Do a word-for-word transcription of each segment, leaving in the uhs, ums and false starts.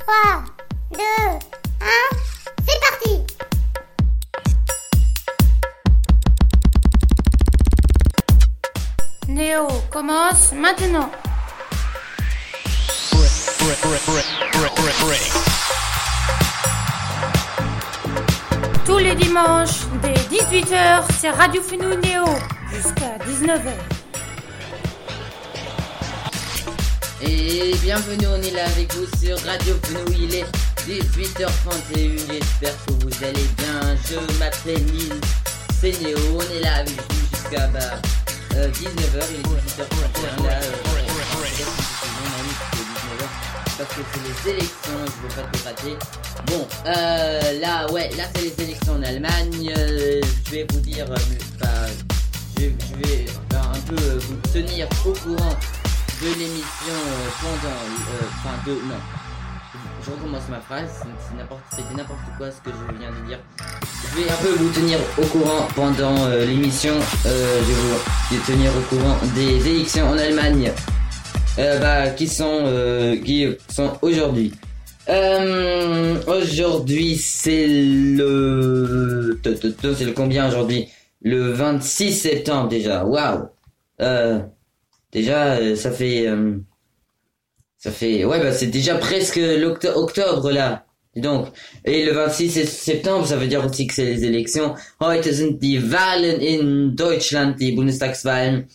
trois, deux, un, c'est parti! Néo commence maintenant. Tous les dimanches, dès dix-huit heures, c'est Radio Fenouil Néo, jusqu'à dix-neuf heures. Et bienvenue, on est là avec vous sur Radio Fenouil, il est dix-huit heures trente et un, j'espère que vous allez bien. Je m'appelle Nils, c'est Néo, on est là avec vous jusqu'à bah, euh, dix-neuf heures, il est dix-huit heures trente et un là, euh, parce que c'est les élections, je veux pas tout rater. Bon, euh, là, ouais, là c'est les élections en Allemagne, euh, je vais vous dire, euh, bah, je, je vais euh, un peu euh, vous tenir au courant de l'émission euh, pendant, enfin euh, de, non, je, je recommence ma phrase, c'est, c'est n'importe, c'était n'importe quoi ce que je viens de dire. Je vais un peu vous tenir au courant pendant euh, l'émission, euh, je vais vous tenir au courant des élections en Allemagne. Euh, bah, qui sont euh, qui sont aujourd'hui. Euh, aujourd'hui c'est le c'est le combien aujourd'hui? Le vingt-six septembre déjà. Waouh. Euh, déjà ça fait euh, ça fait ouais bah c'est déjà presque l'octobre là. Dis donc. Et le vingt-six septembre, ça veut dire aussi que c'est les élections. Heute sind die Wahlen in Deutschland, die Bundestagswahlen.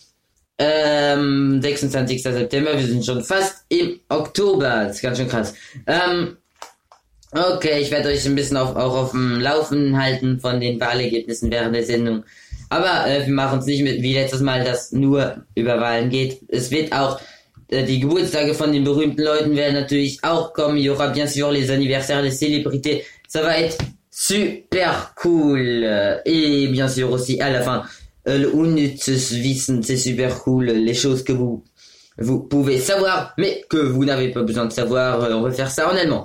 Ähm, sechsundzwanzigster September, wir sind schon fast im Oktober, das ist ganz schön krass. Ähm, okay, ich werde euch ein bisschen auf, auch auf dem Laufen halten von den Wahlergebnissen während der Sendung. Aber äh, wir machen es nicht mit wie letztes Mal, dass nur über Wahlen geht. Es wird auch, äh, die Geburtstage von den berühmten Leuten werden natürlich auch kommen. Il y aura bien sûr les anniversaires des célébrités. Ça va être super cool. Et bien sûr aussi à la fin, le unnützes Wissen, c'est super cool, les choses que vous vous pouvez savoir, mais que vous n'avez pas besoin de savoir. On va faire ça en allemand.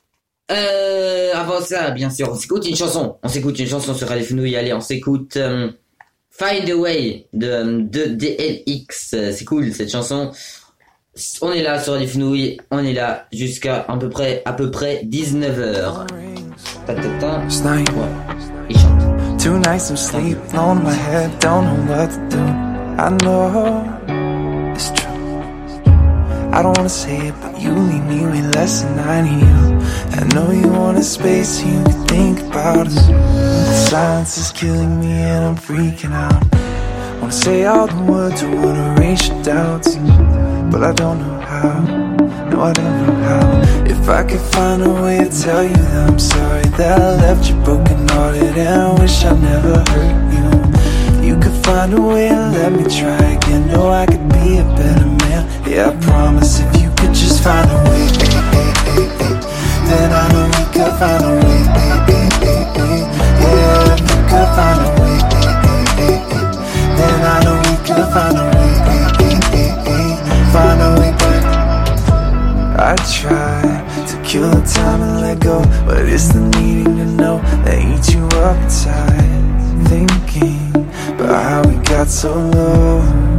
Euh, avant ça, bien sûr, on s'écoute une chanson. On s'écoute une chanson sur Radio Fenouil. Allez, on s'écoute euh, Find a Way de, de D L X. C'est cool cette chanson. On est là sur Radio Fenouil. On est là jusqu'à à peu près à peu près dix-neuf heures. Ta ta ta. Ouais. Il chante. Two nights of sleep on my head, don't know what to do. I know it's true. I don't wanna say it, but you leave me way less than I need you. I know you want a space so you can think about us. The silence is killing me and I'm freaking out. Wanna say all the words, I wanna erase your doubts, but I don't know how. No, I don't know how. If I could find a way to tell you that I'm sorry that I left you broken hearted and I wish I never hurt you. You could find a way to let me try again. Know I could be a better man. Yeah, I promise if you could just find a way, then I know we could find a way. Yeah, if you could find a way, then I know we could find a way. Find a way, but I try to kill the time and let go, but it's the needing to know that eats you up inside. Thinking about how we got so low,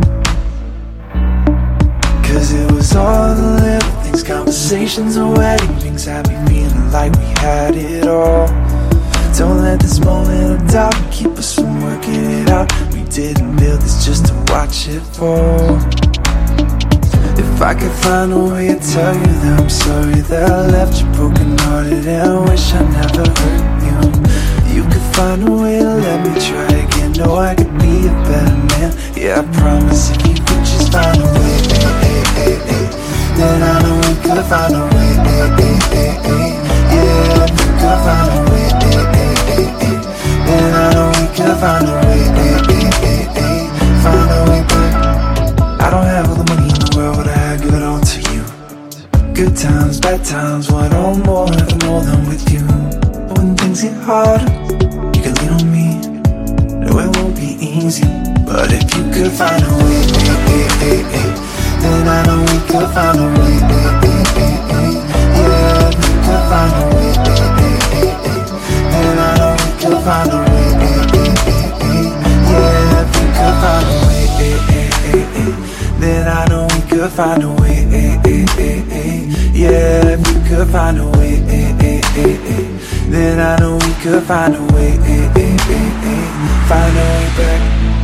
cause it was all the little things, conversations and wedding rings had me feeling like we had it all. Don't let this moment of doubt keep us from working it out. We didn't build this just to watch it fall. If I could find a way to tell you that I'm sorry that I left you broken hearted and I wish I never hurt you. You could find a way to let me try again. Know I could be a better man. Yeah, I promise if you could just find a way, then I know we could find a way. Yeah, if you could find a way, then I know we could find a way. Find a way, but I don't have all the money in the world, but I give it all to you. Good times, bad times, want all more, never more than with you. But when things get harder, you can lean on me. No, it won't be easy, but if you could find a way, then I know we could find a way. Yeah, if you could find a way, then I know we could find a way. Yeah, if you could find a way, then I know we could find a way. Yeah, if we could find a way, then I know we could find a way, find a way back.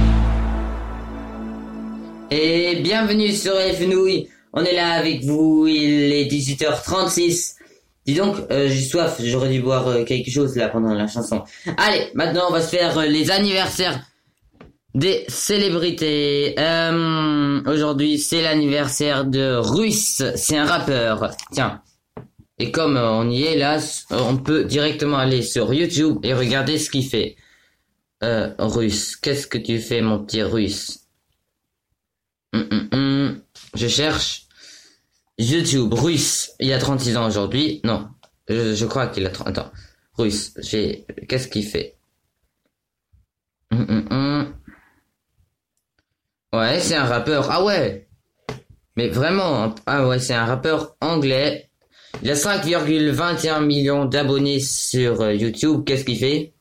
Et bienvenue sur Fenouille. On est là avec vous, il est dix-huit heures trente-six. Dis donc, euh, j'ai soif, j'aurais dû boire euh, quelque chose là pendant la chanson. Allez, maintenant on va se faire euh, les anniversaires des célébrités. Euh, aujourd'hui c'est l'anniversaire de Russ, c'est un rappeur. Tiens, et comme euh, on y est là, on peut directement aller sur YouTube et regarder ce qu'il fait. Euh, Russ, qu'est-ce que tu fais mon petit Russ? hum, hum, hum. Je cherche YouTube, Russ, il a trente-six ans aujourd'hui. Non, je, je crois qu'il a trente... Attends, Russ, j'ai... Qu'est-ce qu'il fait? hum, hum, hum. Ouais, c'est un rappeur. Ah ouais. Mais vraiment, ah ouais, c'est un rappeur anglais. Il a cinq virgule vingt et un millions d'abonnés sur euh, YouTube. Qu'est-ce qu'il fait?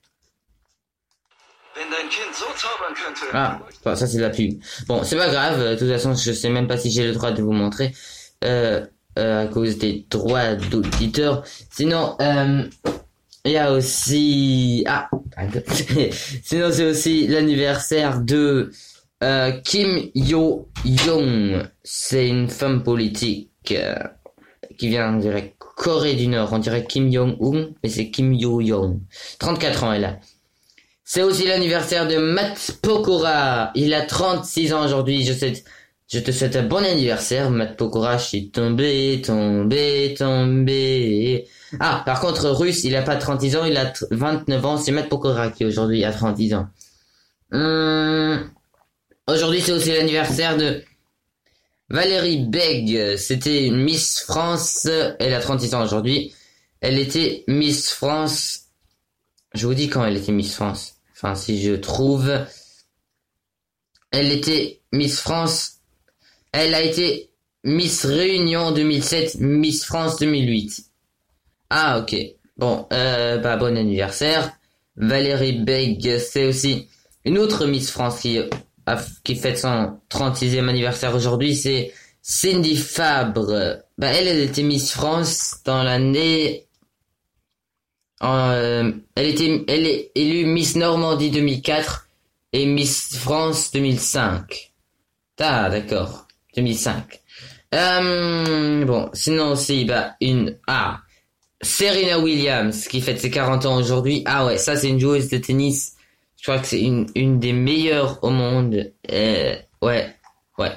Ah, bon, ça c'est de la pub. Bon, c'est pas grave. De toute façon, je sais même pas si j'ai le droit de vous montrer. Euh, euh, à cause des droits d'auditeurs. Sinon, euh... il y a aussi... Ah, sinon c'est aussi l'anniversaire de... Euh, Kim Yo-young, c'est une femme politique euh, qui vient, on dirait, Corée du Nord. On dirait Kim Jong-un, mais c'est Kim Yo-young. trente-quatre ans, elle a. C'est aussi l'anniversaire de Matt Pokora. Il a trente-six ans aujourd'hui. Je, sais, je te souhaite un bon anniversaire, Matt Pokora. Je suis tombé, tombé, tombé. Ah, par contre, Russ, il a pas trente-six ans, il a vingt-neuf ans. C'est Matt Pokora qui aujourd'hui a trente-six ans. Hum... Aujourd'hui, c'est aussi l'anniversaire de Valérie Beg. C'était une Miss France. Elle a trente-six ans aujourd'hui. Elle était Miss France. Je vous dis quand elle était Miss France. Enfin, si je trouve. Elle était Miss France. Elle a été Miss Réunion deux mille sept, Miss France deux mille huit. Ah, ok. Bon, euh, bah, bon anniversaire. Valérie Beg, c'est aussi une autre Miss France qui... qui fête son trente-sixième anniversaire aujourd'hui, c'est Cindy Fabre. Bah, elle, elle était Miss France dans l'année... Euh, elle était, elle est élue Miss Normandie deux mille quatre et Miss France deux mille cinq. Ah, d'accord. deux mille cinq. Euh, bon, sinon aussi, bah, une... Ah, Serena Williams, qui fête ses quarante ans aujourd'hui. Ah ouais, ça, c'est une joueuse de tennis... Je crois que c'est une, une des meilleures au monde. Euh, ouais, ouais.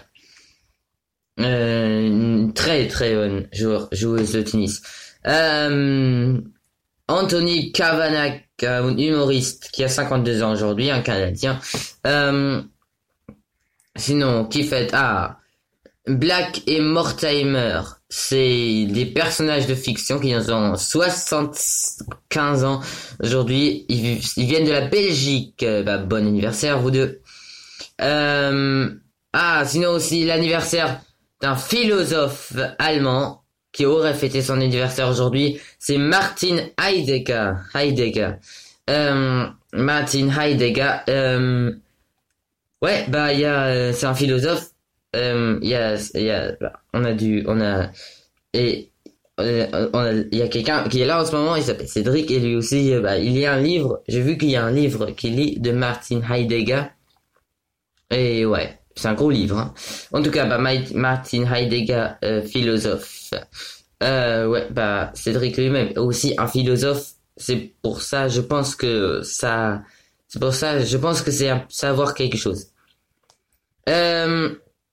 Euh, une très très bonne joueur, joueuse de tennis. Euh, Anthony Kavanagh, un humoriste qui a cinquante-deux ans aujourd'hui, un Canadien. Euh, sinon, qui fait... Ah, Black et Mortimer. C'est des personnages de fiction qui ont soixante-quinze ans aujourd'hui. Ils, ils viennent de la Belgique. Bah, bon anniversaire, vous deux. Euh, ah, sinon aussi l'anniversaire d'un philosophe allemand qui aurait fêté son anniversaire aujourd'hui. C'est Martin Heidegger. Heidegger. Euh, Martin Heidegger. Euh, ouais, bah, il y a, c'est un philosophe. Euh, il y a, il y a, on a dû, on a, et, euh, on a, il y a quelqu'un qui est là en ce moment, il s'appelle Cédric, et lui aussi, euh, bah, il y a un livre, j'ai vu qu'il y a un livre qu'il lit de Martin Heidegger, et ouais, c'est un gros livre, hein. En tout cas, bah, Martin Heidegger, euh, philosophe, euh, ouais, bah, Cédric lui-même, aussi un philosophe, c'est pour ça, je pense que ça, c'est pour ça, je pense que c'est un, savoir quelque chose. Euh,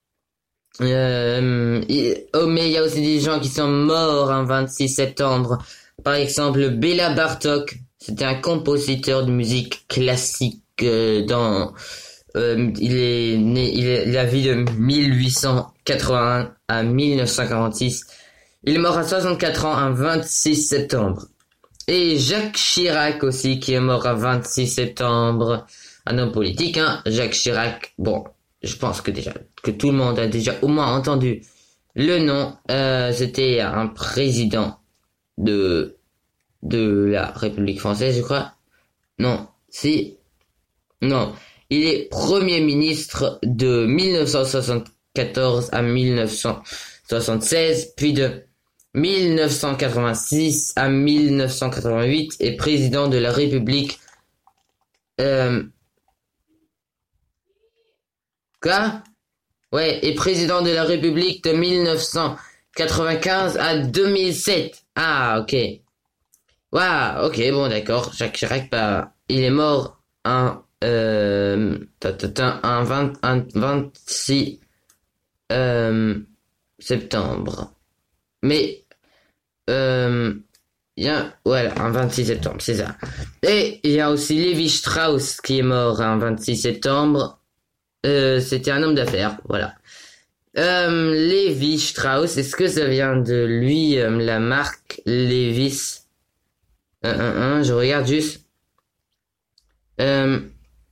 Euh, oh, mais il y a aussi des gens qui sont morts un vingt-six septembre. Par exemple, Béla Bartók, c'était un compositeur de musique classique euh, dans... Euh, il est né, il est la vie de mille huit cent quatre-vingt-un à mille neuf cent quarante-six. Il est mort à soixante-quatre ans un vingt-six septembre. Et Jacques Chirac aussi, qui est mort un vingt-six septembre. Un homme politique, hein, Jacques Chirac. Bon, je pense que déjà que tout le monde a déjà au moins entendu le nom. Euh, c'était un président de de la République française, je crois. Non, si, non, il est premier ministre de mille neuf cent soixante-quatorze à mille neuf cent soixante-seize, puis de mille neuf cent quatre-vingt-six à mille neuf cent quatre-vingt-huit et président de la République. Euh... Quoi? Ouais, et président de la République de mille neuf cent quatre-vingt-quinze à deux mille sept. Ah, ok. Waouh, ok, bon, d'accord. Jacques Chirac, bah, il est mort un, euh, un, vingt, un vingt-six, euh, septembre. Mais, euh, il y a, voilà, un vingt-six septembre, c'est ça. Et il y a aussi Lévi Strauss qui est mort un vingt-six septembre. Euh, c'était un homme d'affaires, voilà. Euh, Lévi Strauss, est-ce que ça vient de lui, euh, la marque Levi's? Un, un, un, je regarde juste. Euh,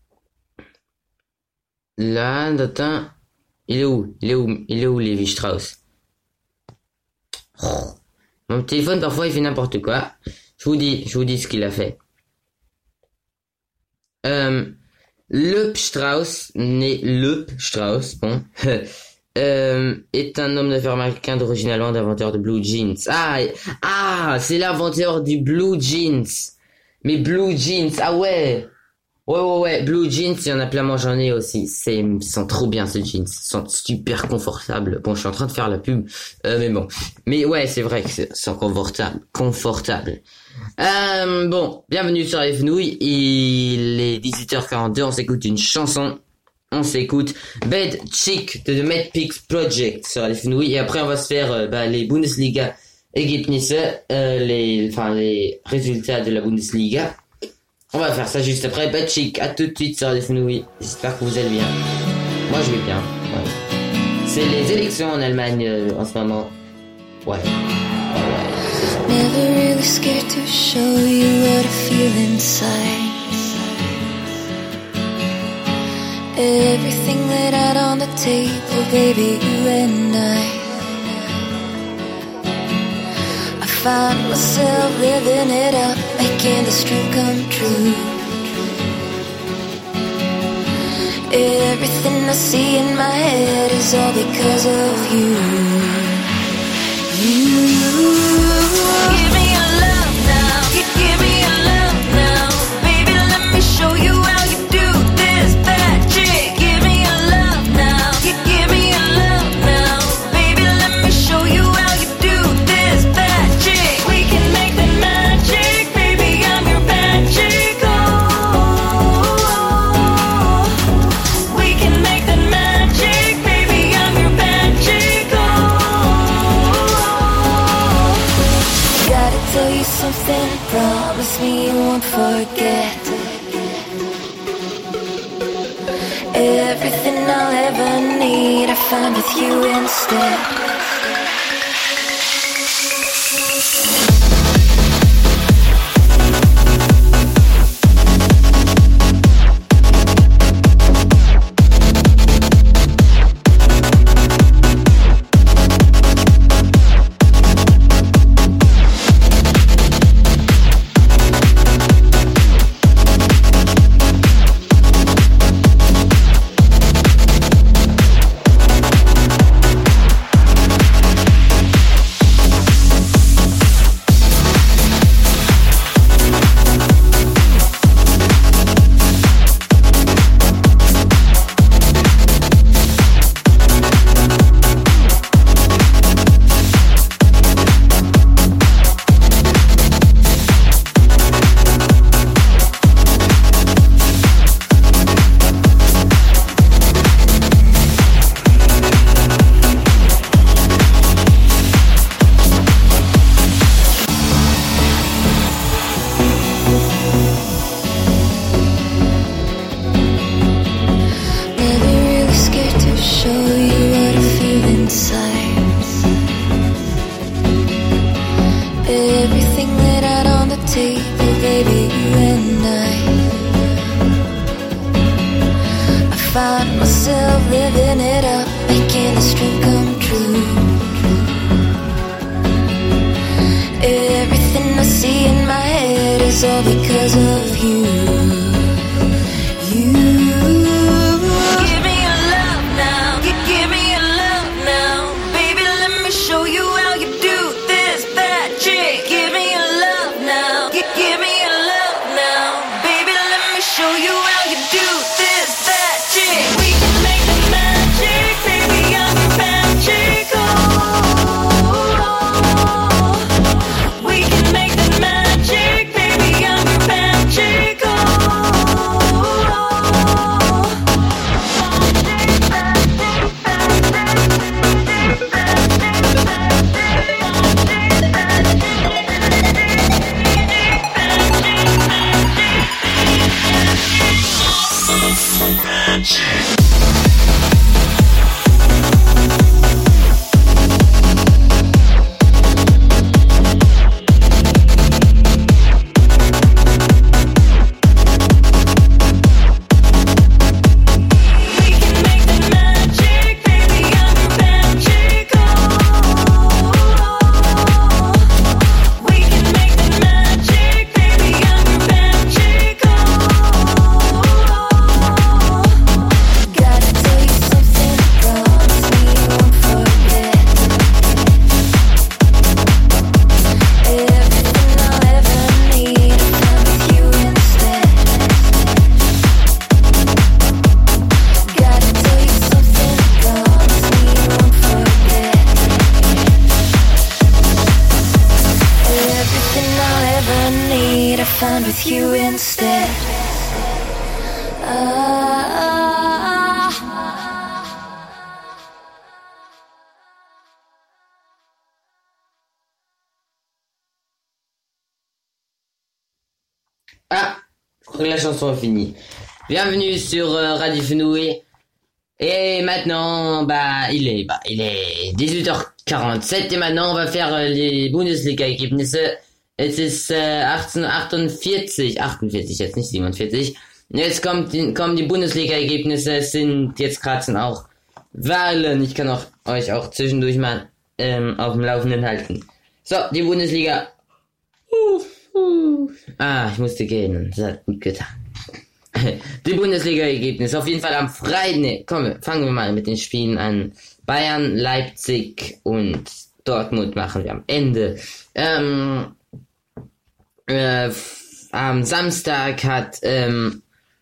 là, attends. Il est où? Il est où? Il est où, Lévi Strauss? Oh. Mon téléphone, parfois, il fait n'importe quoi. Je vous dis, je vous dis ce qu'il a fait. Euh, Le Strauss, né Le Strauss, bon, euh, est un homme d'affaires américain d'origine allemande, inventeur de blue jeans. Ah, ah, c'est l'inventeur du blue jeans. Mais blue jeans, ah ouais. Ouais, ouais, ouais, blue jeans, il y en a plein, moi j'en ai aussi. C'est, ils sont trop bien ces jeans, ils sont super confortables. Bon, je suis en train de faire la pub, euh, mais bon. Mais ouais, c'est vrai que c'est, c'est confortable, confortable. Euh, bon, bienvenue sur les Fenouilles, il est dix-huit heures quarante-deux, on s'écoute une chanson, on s'écoute Bad Chick de The Mad Pigs Project sur les Fenouilles, et après on va se faire euh, bah, les Bundesliga Ergebnisse, euh, les, enfin les résultats de la Bundesliga. On va faire ça juste après. Bad Chick, à tout de suite sur les Fenouilles, j'espère que vous allez bien. Moi je vais bien, ouais. C'est les élections en Allemagne euh, en ce moment, ouais. Never really scared to show you what I feel inside. Everything laid out on the table, baby, you and I. I found myself living it up, making this dream come true. Everything I see in my head is all because of you. You. Give me your love now, give, give me your love now. Baby, let me show you how you do this bad chick. Give me your love now, give, give me your love now. Baby, let me show you how you do this bad chick. We can make the magic, baby, I'm your bad chick. Oh, we can make the magic, baby, I'm your bad chick. Gotta tell you something, promise me you won't forget. Everything I'll ever need I found with you instead. Show you how you do this spend with you instead. Ah. Ah, je crois que la chanson est finie. Bienvenue sur euh, Radio Fenoué. Et maintenant, bah, il est, bah, il est dix-huit heures quarante-sept et maintenant on va faire äh, die Bundesliga-Ergebnisse. Es ist äh, achtzehnhundertachtundvierzig, achtundvierzig jetzt nicht siebenundvierzig. Jetzt kommt die, kommen die Bundesliga-Ergebnisse. Es sind jetzt gerade sind auch Wahlen. Ich kann auch euch auch zwischendurch mal ähm, auf dem Laufenden halten. So, die Bundesliga. Uh, uh. Ah, ich musste gehen. Das hat gut getan. Die Bundesliga-Ergebnisse. Auf jeden Fall am Freitag. Nee, komm, fangen wir mal mit den Spielen an. Bayern, Leipzig und Dortmund machen wir am Ende. Ähm, äh, am Samstag hat, ähm,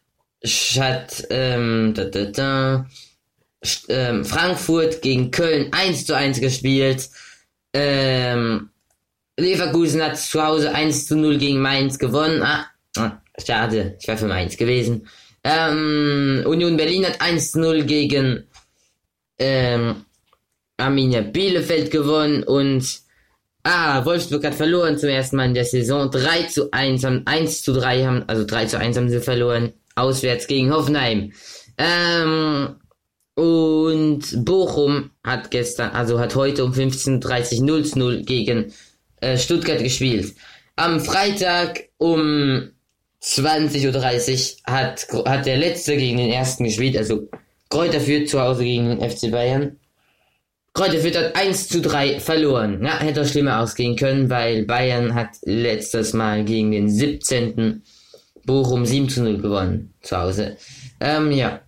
hat ähm, da, da, da, ähm, Frankfurt gegen Köln eins zu eins gespielt. Ähm, Leverkusen hat zu Hause eins zu null gegen Mainz gewonnen. Ah, ah, schade, ich war für Mainz gewesen. Ähm, Union Berlin hat eins zu null gegen ähm, Arminia Bielefeld gewonnen und ah, Wolfsburg hat verloren zum ersten Mal in der Saison. drei zu eins, haben eins zu drei haben, also drei zu eins haben sie verloren. Auswärts gegen Hoffenheim. Ähm, und Bochum hat gestern, also hat heute um fünfzehn Uhr dreißig null zu null gegen äh, Stuttgart gespielt. Am Freitag um zwanzig Uhr dreißig hat, hat der Letzte gegen den Ersten gespielt, also Kräuter Fürth zu Hause gegen den F C Bayern. Kräuter Fürth hat eins zu drei verloren. Ja, hätte auch schlimmer ausgehen können, weil Bayern hat letztes Mal gegen den siebzehnten Bochum sieben zu null gewonnen zu Hause. Ähm, ja.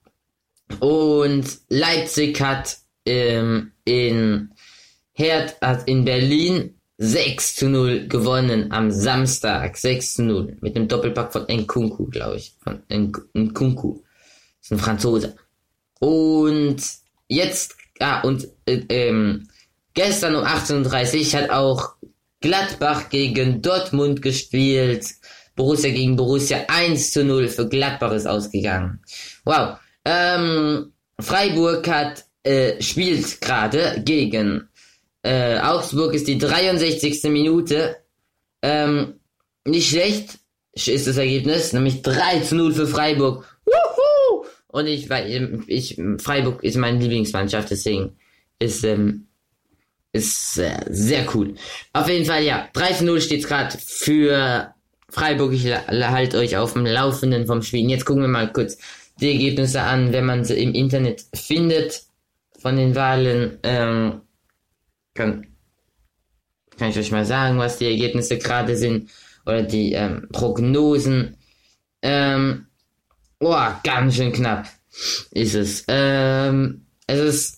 Und Leipzig hat ähm, in Herd hat in Berlin sechs zu null gewonnen am Samstag. sechs zu null. Mit einem Doppelpack von Nkunku, glaube ich. Von Nkunku. Das ist ein Franzose. Und jetzt, ah, und äh, ähm, gestern um achtzehn Uhr dreißig hat auch Gladbach gegen Dortmund gespielt. Borussia gegen Borussia eins zu null für Gladbach ist ausgegangen. Wow. Ähm, Freiburg hat, äh, spielt gerade gegen, äh, Augsburg ist die dreiundsechzigste Minute. Ähm, nicht schlecht ist das Ergebnis, nämlich drei zu null für Freiburg. Wuhu! Und ich, weil, ich, Freiburg ist meine Lieblingsmannschaft, deswegen ist, ähm, ist, äh, sehr cool. Auf jeden Fall, ja, drei zu null steht's gerade für Freiburg. Ich halte euch auf dem Laufenden vom Spiel. Jetzt gucken wir mal kurz die Ergebnisse an, wenn man sie im Internet findet von den Wahlen. Ähm, kann, kann ich euch mal sagen, was die Ergebnisse gerade sind oder die ähm, Prognosen. Ähm, oh, ganz schön knapp ist es. Ähm, es ist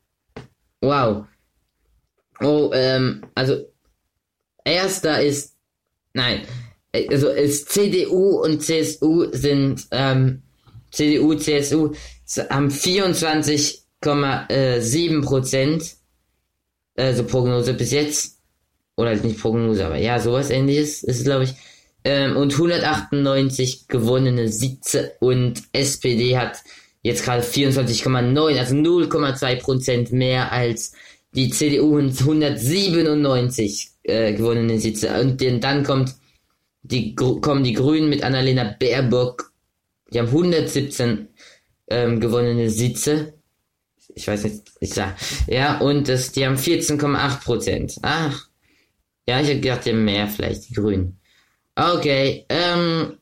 wow. Oh, ähm, also erster ist nein. Also es C D U und C S U sind ähm, C D U, C S U haben vierundzwanzig Komma sieben Prozent, also Prognose bis jetzt, oder halt nicht Prognose, aber ja, sowas ähnliches ist es, glaube ich, ähm, und hundertachtundneunzig gewonnene Sitze und S P D hat jetzt gerade vierundzwanzig Komma neun, also null Komma zwei Prozent mehr als die C D U und hundertsiebenundneunzig äh, gewonnene Sitze. Und dann kommt die kommen die Grünen mit Annalena Baerbock, die haben hundertsiebzehn ähm, gewonnene Sitze. Ich weiß nicht, ich sag, ja, und das, die haben vierzehn Komma acht Prozent. Ach, ja, ich hätte gedacht, die haben mehr, vielleicht die Grünen. Okay, ähm,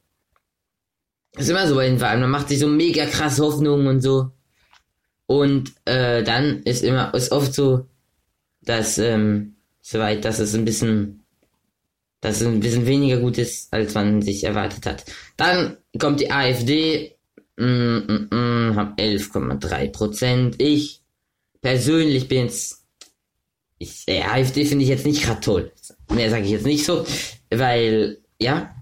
ist immer so bei den Wahlen, man macht sich so mega krass Hoffnungen und so. Und, äh, dann ist immer, ist oft so, dass, ähm, soweit, dass es ein bisschen, dass es ein bisschen weniger gut ist, als man sich erwartet hat. Dann kommt die AfD, mm, mm, mm, haben elf Komma drei Prozent. Ich persönlich bin jetzt, ich, äh, AfD finde ich jetzt nicht gerade toll. Mehr sage ich jetzt nicht so, weil, ja.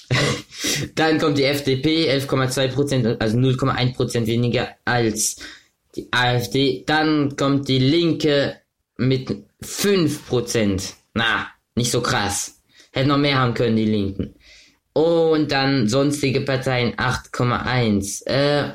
Dann kommt die F D P, elf Komma zwei Prozent, also null Komma eins Prozent weniger als die AfD. Dann kommt die Linke mit fünf Prozent. Na, nicht so krass. Hätten noch mehr haben können, die Linken. Und dann sonstige Parteien acht Komma eins. Äh,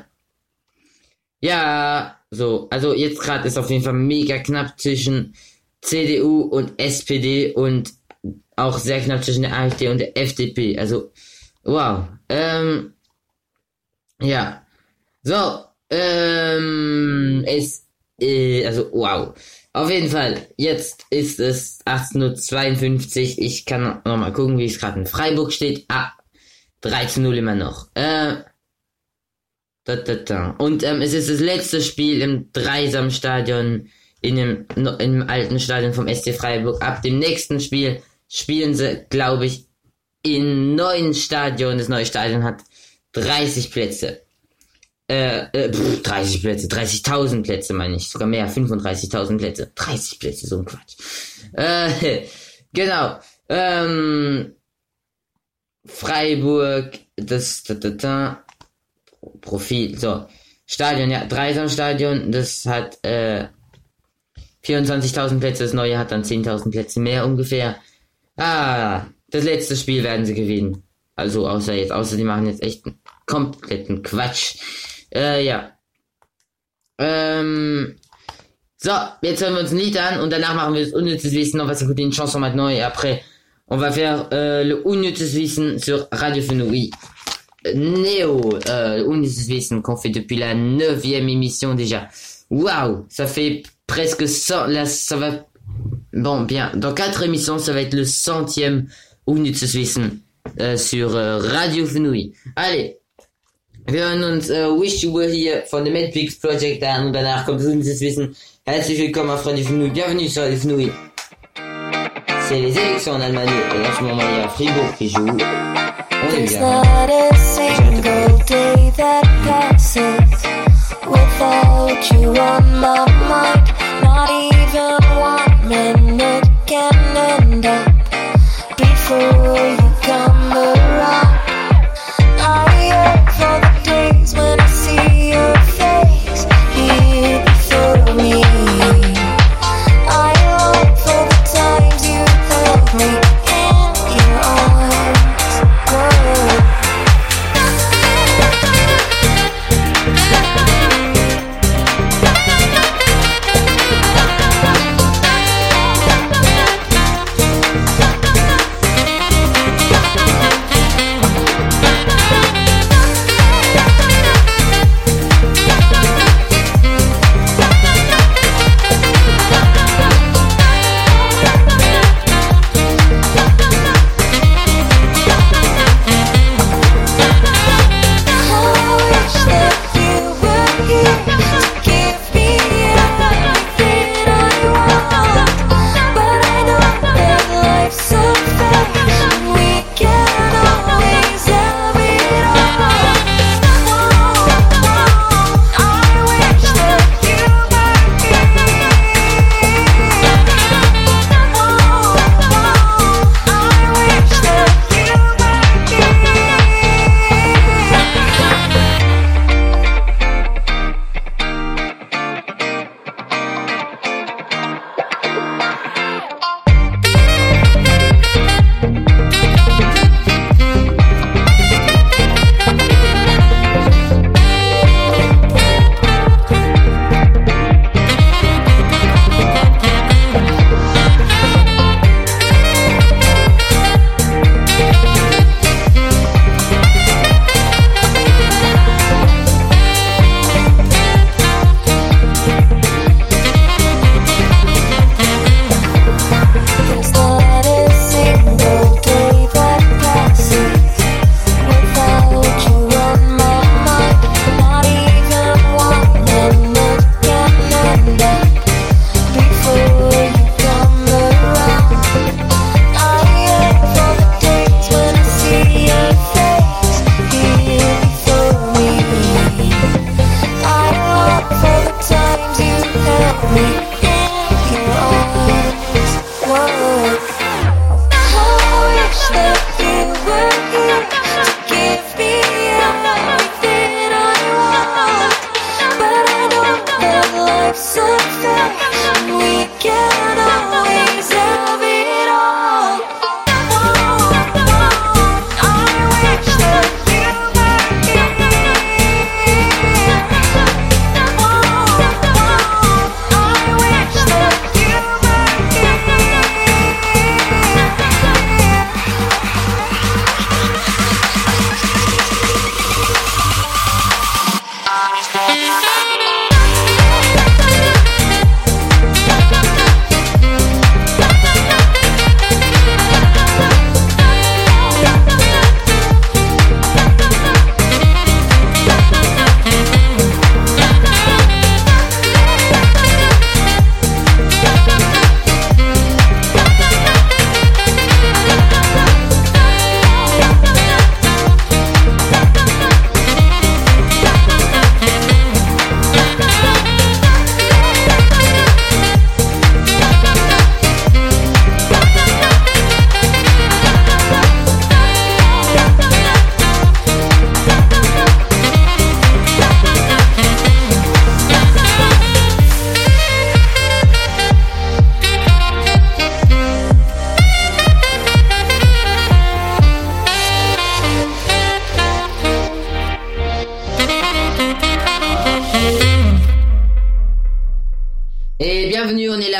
ja, so, also jetzt gerade ist auf jeden Fall mega knapp zwischen C D U und S P D und auch sehr knapp zwischen der AfD und der F D P. Also, wow. Ähm, ja. So, ähm, es, äh, also, wow. Auf jeden Fall, jetzt ist es achtzehn Uhr zweiundfünfzig. Ich kann noch mal gucken, wie es gerade in Freiburg steht. Ah, drei zu null immer noch. Äh, da, da, da. Und ähm, es ist das letzte Spiel im Dreisamstadion in dem, in dem alten Stadion vom S C Freiburg. Ab dem nächsten Spiel spielen sie, glaube ich, im neuen Stadion. Das neue Stadion hat dreißig Plätze. Äh, äh, pff, dreißig Plätze, dreißigtausend Plätze meine ich, sogar mehr, fünfunddreißigtausend Plätze, dreißig Plätze, so ein Quatsch. Äh, genau, ähm, Freiburg, das, da, da, da, Profil, so, Stadion, ja, Dreisamstadion, das hat, äh, vierundzwanzigtausend Plätze, das neue hat dann zehntausend Plätze mehr ungefähr. Ah, das letzte Spiel werden sie gewinnen. Also, außer jetzt, außer die machen jetzt echt einen kompletten Quatsch. Äh, ja. Ähm. So, jetzt hören wir uns ein Lied an und danach machen wir das unnützes Wissen. On va s'écouter une chanson maintenant et après on va faire euh, le unnützes Wissen sur Radio Fenouille. Néo, euh, unnützes Wissen qu'on fait depuis la neuvième émission déjà. Waouh, ça fait presque cent, là, ça va, bon, bien, dans quatre émissions, ça va être le centième unnützes Wissen äh, sur äh, Radio Fenouille. Allez. Wir hören uns äh, Wish You Were Here von The Medpix Project an und danach kommt unnützes Wissen. Herzlich willkommen auf Radio Fenouille. Bienvenue sur Radio Fenouille. C'est les élections en Allemagne et en ce moment il y a Fribourg qui joue. On est bien. Not a single day that passes without you on my mind. Not even one minute can end up before you come around. I yearn for the days when I see your face here before me. I long for the times you held me in your arms. Whoa.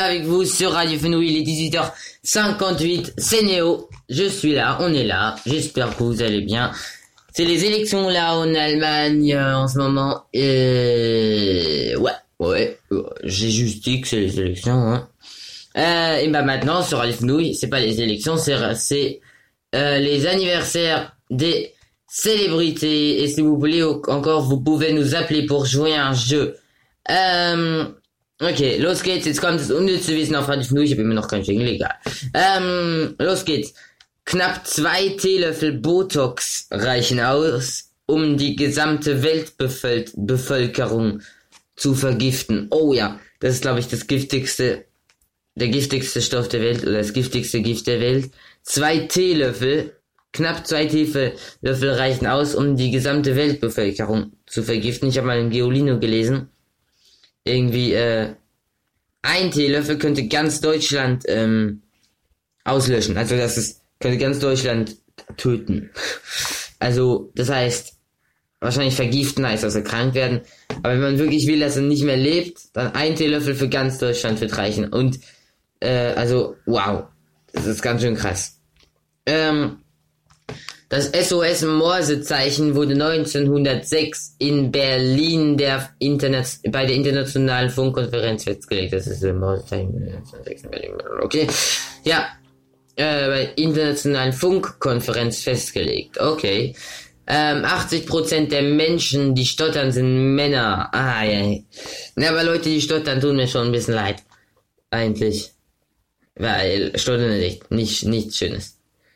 avec vous sur Radio Fenouil, il est dix-huit heures cinquante-huit, c'est Néo, je suis là, on est là, j'espère que vous allez bien. C'est les élections là en Allemagne euh, en ce moment, et ouais, ouais, j'ai juste dit que c'est les élections, hein. Euh, et bah maintenant sur Radio Fenouil, c'est pas les élections, c'est, c'est euh, les anniversaires des célébrités, et si vous voulez encore, vous pouvez nous appeler pour jouer à un jeu. Ähm, okay, los geht's. Jetzt kommt das unnütze Wissen auf Radio Fenouil. Ich habe immer noch keinen Jingle, egal. Ähm, los geht's. Knapp zwei Teelöffel Botox reichen aus, um die gesamte Weltbevölkerung zu vergiften. Oh ja, das ist, glaube ich, das giftigste, der giftigste Stoff der Welt, oder das giftigste Gift der Welt. Zwei Teelöffel, knapp zwei Teelöffel reichen aus, um die gesamte Weltbevölkerung zu vergiften. Ich habe mal in Geolino gelesen. Irgendwie, äh, ein Teelöffel könnte ganz Deutschland, ähm, auslöschen. Also, das ist, könnte ganz Deutschland töten. Also, das heißt, wahrscheinlich vergiften heißt, dass er krank werden. Aber wenn man wirklich will, dass er nicht mehr lebt, dann ein Teelöffel für ganz Deutschland wird reichen. Und, äh, also, wow. Das ist ganz schön krass. Ähm, Das S O S-Morsezeichen wurde neunzehnhundertsechs in Berlin der Internet bei der Internationalen Funkkonferenz festgelegt. Das ist ein Morsezeichen neunzehnhundertsechs in Berlin. Okay. Ja. Äh, bei der Internationalen Funkkonferenz festgelegt. Okay. Ähm, achtzig Prozent der Menschen, die stottern, sind Männer. Ah, ja. Ja, aber Leute, die stottern, tun mir schon ein bisschen leid. Eigentlich. Weil Stottern ist echt nicht, nichts Schönes.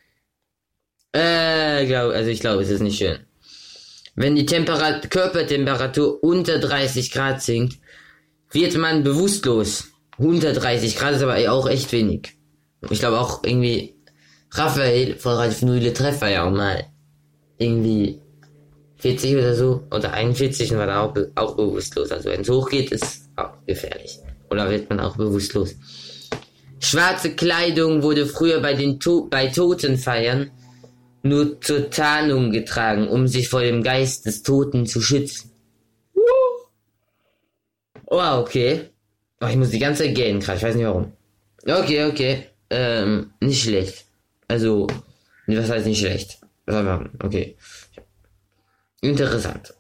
Äh, glaub, also ich glaube, es ist nicht schön. Wenn die Temperat- Körpertemperatur unter dreißig Grad sinkt, wird man bewusstlos. Unter dreißig Grad ist aber auch echt wenig. Ich glaube auch irgendwie, Raphael von Radio Fenouil Treffer ja auch mal irgendwie vierzig oder so, oder einundvierzig und war da auch, be- auch bewusstlos. Also wenn es hochgeht, ist auch gefährlich. Oder wird man auch bewusstlos. Schwarze Kleidung wurde früher bei den to- bei Totenfeiern nur zur Tarnung getragen, um sich vor dem Geist des Toten zu schützen. Oh, okay. Oh, ich muss die ganze Zeit gehen, gerade, ich weiß nicht warum. Okay, okay. Ähm, nicht schlecht. Also, was heißt nicht schlecht? Okay. Interessant.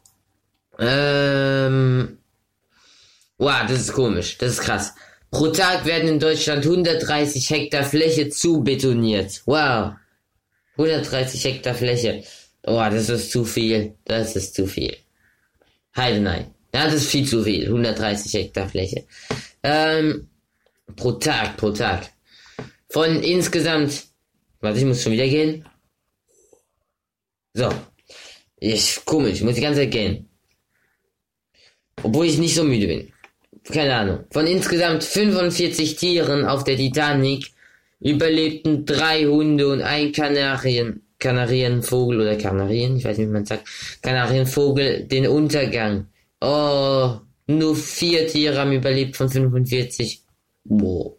Ähm, wow, das ist komisch, das ist krass. Pro Tag werden in Deutschland hundertdreißig Hektar Fläche zubetoniert. Wow. hundertdreißig Hektar Fläche. Oh, das ist zu viel. Das ist zu viel. Heide, nein. Ja, das ist viel zu viel. hundertdreißig Hektar Fläche. Ähm, pro Tag, pro Tag. Von insgesamt, warte, ich muss schon wieder gehen. So. Ich, komisch, ich muss die ganze Zeit gehen. Obwohl ich nicht so müde bin. Keine Ahnung. Von insgesamt fünfundvierzig Tieren auf der Titanic überlebten drei Hunde und ein Kanarien, Kanarienvogel oder Kanarien, ich weiß nicht, wie man sagt, Kanarienvogel, den Untergang. Oh, nur vier Tiere haben überlebt von fünfundvierzig. Boah.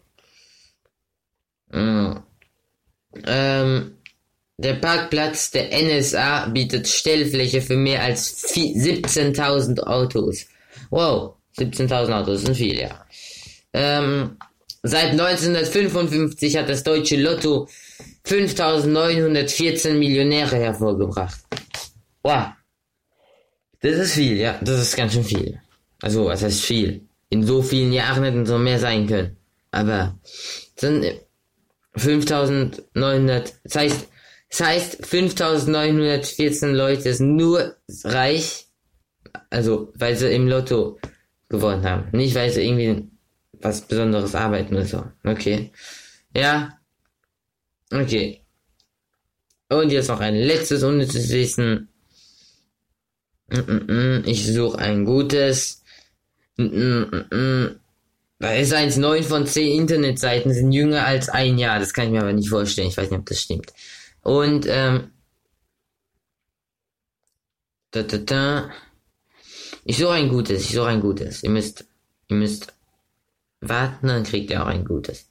Mm. Ähm, der Parkplatz der N S A bietet Stellfläche für mehr als siebzehntausend Autos. Wow, siebzehntausend Autos sind viel, ja. Ähm, Seit neunzehnhundertfünfundfünfzig hat das deutsche Lotto fünftausendneunhundertvierzehn Millionäre hervorgebracht. Wow. Das ist viel, ja. Das ist ganz schön viel. Also, was heißt viel? In so vielen Jahren hätten es noch mehr sein können. Aber es sind fünftausendneunhundert, das heißt, das heißt fünftausendneunhundertvierzehn Leute sind nur reich, also weil sie im Lotto gewonnen haben. Nicht, weil sie irgendwie was Besonderes arbeiten oder so. Okay. Ja. Okay. Und jetzt noch ein letztes unnützes Wissen. Ich suche ein gutes. Da ist eins, neun von zehn Internetseiten sind jünger als ein Jahr. Das kann ich mir aber nicht vorstellen. Ich weiß nicht, ob das stimmt. Und, ähm. Da, da, da. Ich suche ein gutes. Ich suche ein gutes. Ihr müsst, ihr müsst warten, dann kriegt ihr auch ein gutes.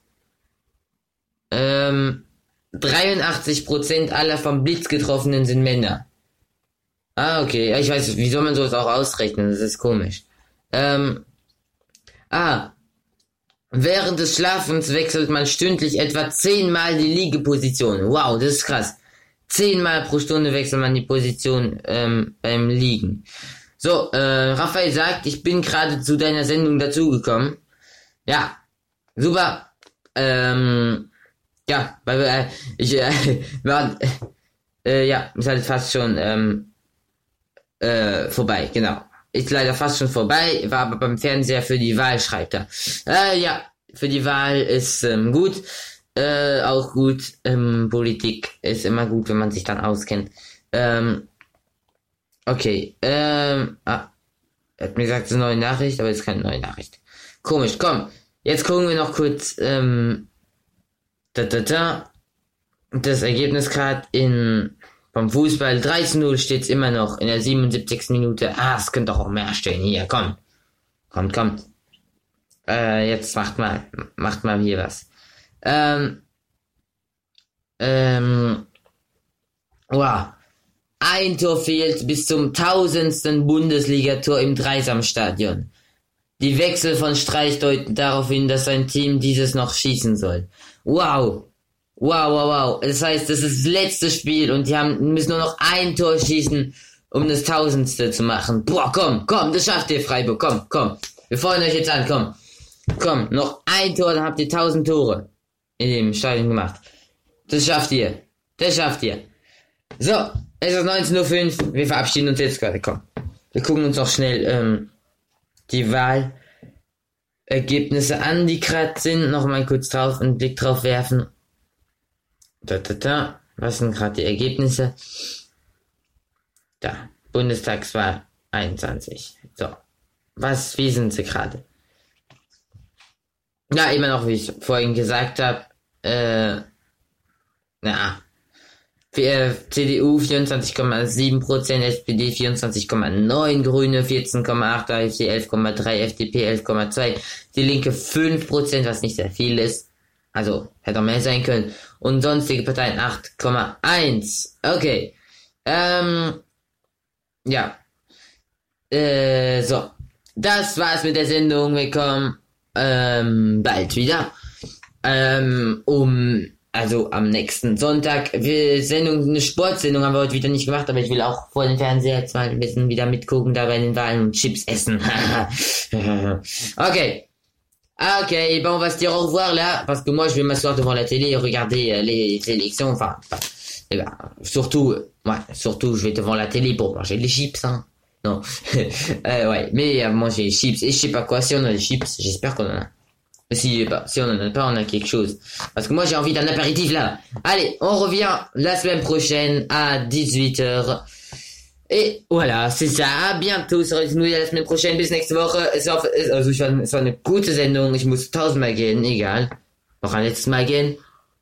Ähm, dreiundachtzig Prozent aller vom Blitz Getroffenen sind Männer. Ah, okay. Ja, ich weiß, wie soll man sowas auch ausrechnen? Das ist komisch. Ähm, ah, Während des Schlafens wechselt man stündlich etwa zehnmal die Liegeposition. Wow, das ist krass. Zehnmal pro Stunde wechselt man die Position ähm, beim Liegen. So, äh, Raphael sagt, ich bin gerade zu deiner Sendung dazugekommen. Ja, super. Ähm, ja, weil äh, ich äh, war, äh, ja, ist halt fast schon ähm, äh, vorbei, genau. Ist leider fast schon vorbei, war aber beim Fernseher für die Wahl, schreibt er. Äh, ja, für die Wahl ist ähm, gut, äh, auch gut, ähm, Politik ist immer gut, wenn man sich dann auskennt. Ähm, okay, ähm, ah, er hat mir gesagt, es ist eine neue Nachricht, aber es ist keine neue Nachricht. Komisch, komm, jetzt gucken wir noch kurz, ähm, da, da, da, das Ergebnis gerade in... Vom Fußball drei zu null steht's immer noch in der siebenundsiebzigsten Minute. Ah, es könnte doch auch mehr stehen. Hier, komm. Kommt, kommt. Äh, jetzt macht mal, macht mal hier was. Ähm, ähm, wow. Ein Tor fehlt bis zum tausendsten Bundesligator im Dreisamstadion. Die Wechsel von Streich deuten darauf hin, dass sein Team dieses noch schießen soll. Wow. Wow, wow, wow. Das heißt, das ist das letzte Spiel und die haben, müssen nur noch ein Tor schießen, um das Tausendste zu machen. Boah, komm, komm, das schafft ihr, Freiburg. Komm, komm. Wir freuen euch jetzt an, komm. Komm, noch ein Tor, dann habt ihr tausend Tore in dem Stadion gemacht. Das schafft ihr. Das schafft ihr. So, es ist neunzehn Uhr fünf. Wir verabschieden uns jetzt gerade, komm. Wir gucken uns noch schnell ähm, die Wahlergebnisse an, die gerade sind. Noch mal kurz drauf, einen Blick drauf werfen. Da, da, da. Was sind gerade die Ergebnisse? Da. Bundestagswahl einundzwanzig. So. Was, wie sind sie gerade? Ja, immer noch, wie ich vorhin gesagt habe. Äh, na. Für C D U vierundzwanzig Komma sieben Prozent, S P D vierundzwanzig Komma neun, Grüne vierzehn Komma acht, A f D elf Komma drei, F D P elf Komma zwei, die Linke fünf Prozent, was nicht sehr viel ist. Also, hätte auch mehr sein können. Und sonstige Parteien acht Komma eins. Okay. Ähm, ja. Äh, so. Das war's mit der Sendung. Wir kommen ähm, bald wieder. Ähm, um, also am nächsten Sonntag. Wir Sendung, eine Sportsendung haben wir heute wieder nicht gemacht, aber ich will auch vor dem Fernseher jetzt mal ein bisschen wieder mitgucken, da bei den Wahlen und Chips essen. Okay. Ok, bon, on va se dire au revoir là, parce que moi je vais m'asseoir devant la télé et regarder euh, les élections, enfin, enfin eh ben, surtout, euh, ouais, surtout je vais devant la télé pour manger des chips, hein, non, euh, ouais, mais euh, manger des chips, et je sais pas quoi, si on a des chips, j'espère qu'on en a, si, bah, si on en a pas, on a quelque chose, parce que moi j'ai envie d'un apéritif là. Allez, on revient la semaine prochaine à dix-huit heures. Et voilà, c'est ça. À bientôt, sur die la semaine prochaine. Bis nächste Woche. Es war, also ich war, es war eine gute Sendung. Ich muss tausendmal gehen, egal. Noch ein letztes Mal gehen.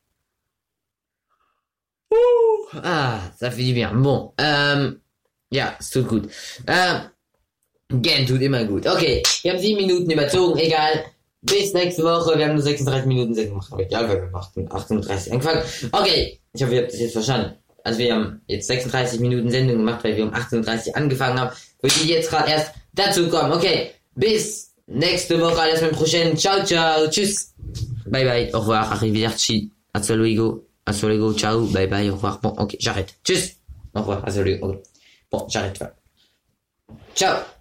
Uh, ah, ça fait du bien. Bon, ähm, ja, es tut gut. Ähm, gehen tut immer gut. Okay, wir haben sieben Minuten überzogen, egal. Bis nächste Woche. Wir haben nur sechsunddreißig Minuten Sendung gemacht. Aber egal, weil wir haben achtunddreißig angefangen. Okay, ich hoffe, ihr habt das jetzt verstanden. Also wir haben jetzt sechsunddreißig Minuten Sendung gemacht, weil wir um achtzehn Uhr dreißig angefangen haben. Für die jetzt gerade erst dazu kommen. Okay, bis nächste Woche, à la semaine prochaine. Ciao, ciao, tschüss. Bye bye, au revoir, arrivederci, hasta luego, hasta luego, ciao, bye bye, au revoir. Bon, ok, j'arrête. Tschüss. Au revoir, hasta luego. Okay. Bon, j'arrête. Ciao.